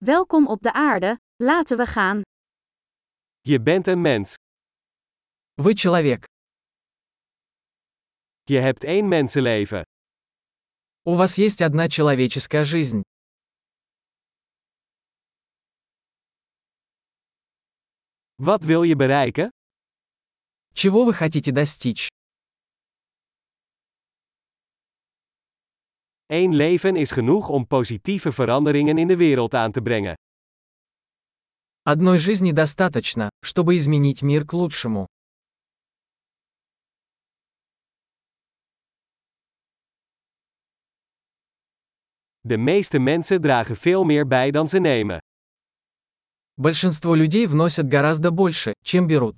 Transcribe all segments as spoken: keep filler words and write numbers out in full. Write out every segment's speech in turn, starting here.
Welkom op de aarde, laten we gaan. Je bent een mens. Вы человек. Je hebt één mensenleven. У вас есть одна человеческая жизнь. Wat wil je bereiken? Чего вы хотите достичь? Eén leven is genoeg om positieve veranderingen in de wereld aan te brengen. Одной жизни достаточно, чтобы изменить мир к лучшему. De meeste mensen dragen veel meer bij dan ze nemen. Большинство людей вносят гораздо больше, чем берут.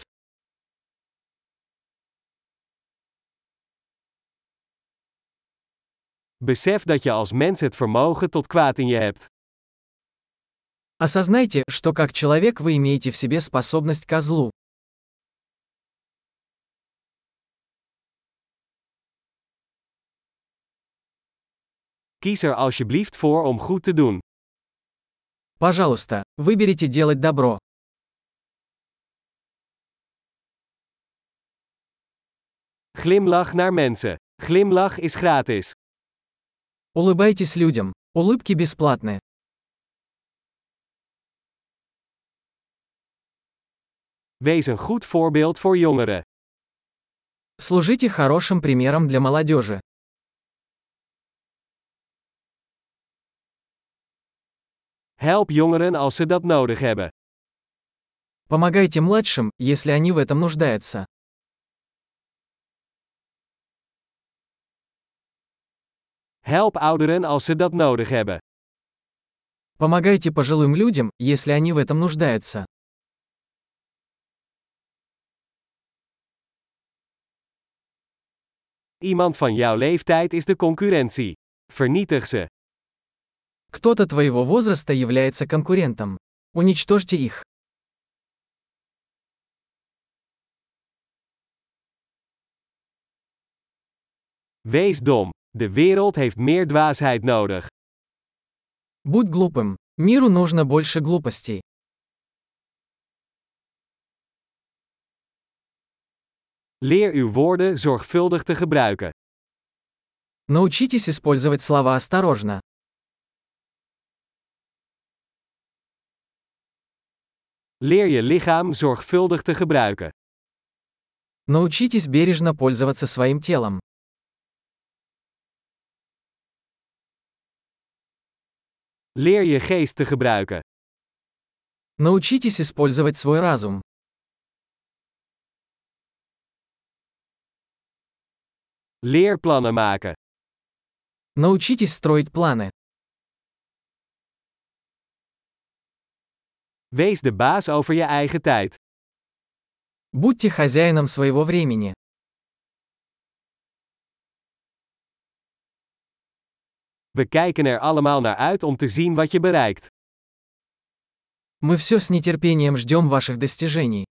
Besef dat je als mens het vermogen tot kwaad in je hebt. Осознайте, что как человек вы имеете в себе способность ко злу. Kies er alsjeblieft voor om goed te doen. Пожалуйста, выберите делать добро. Glimlach naar mensen. Glimlach is gratis. Улыбайтесь людям. Улыбки бесплатны. Wees een goed voorbeeld voor jongeren. Служите хорошим примером для молодежи. Help jongeren als ze dat nodig hebben. Помогайте младшим, если они в этом нуждаются. Help ouderen als ze dat nodig hebben. Помогайте пожилым людям, если они в этом нуждаются. Iemand van jouw leeftijd is de concurrentie. Vernietig ze. Кто-то твоего возраста является конкурентом. Уничтожьте их. Wees dom. De wereld heeft meer dwaasheid nodig. Будь глупым. Миру нужно больше глупостей. Leer uw woorden zorgvuldig te gebruiken. Научитесь использовать слова осторожно. Leer je lichaam zorgvuldig te gebruiken. Научитесь бережно пользоваться своим телом. Leer je geest te gebruiken. Научитесь использовать свой разум. Leer plannen maken. Научитесь строить планы. Wees de baas over je eigen tijd. Будьте хозяином своего времени. We kijken er allemaal naar uit om te zien wat je bereikt. Мы все с нетерпением ждем ваших достижений.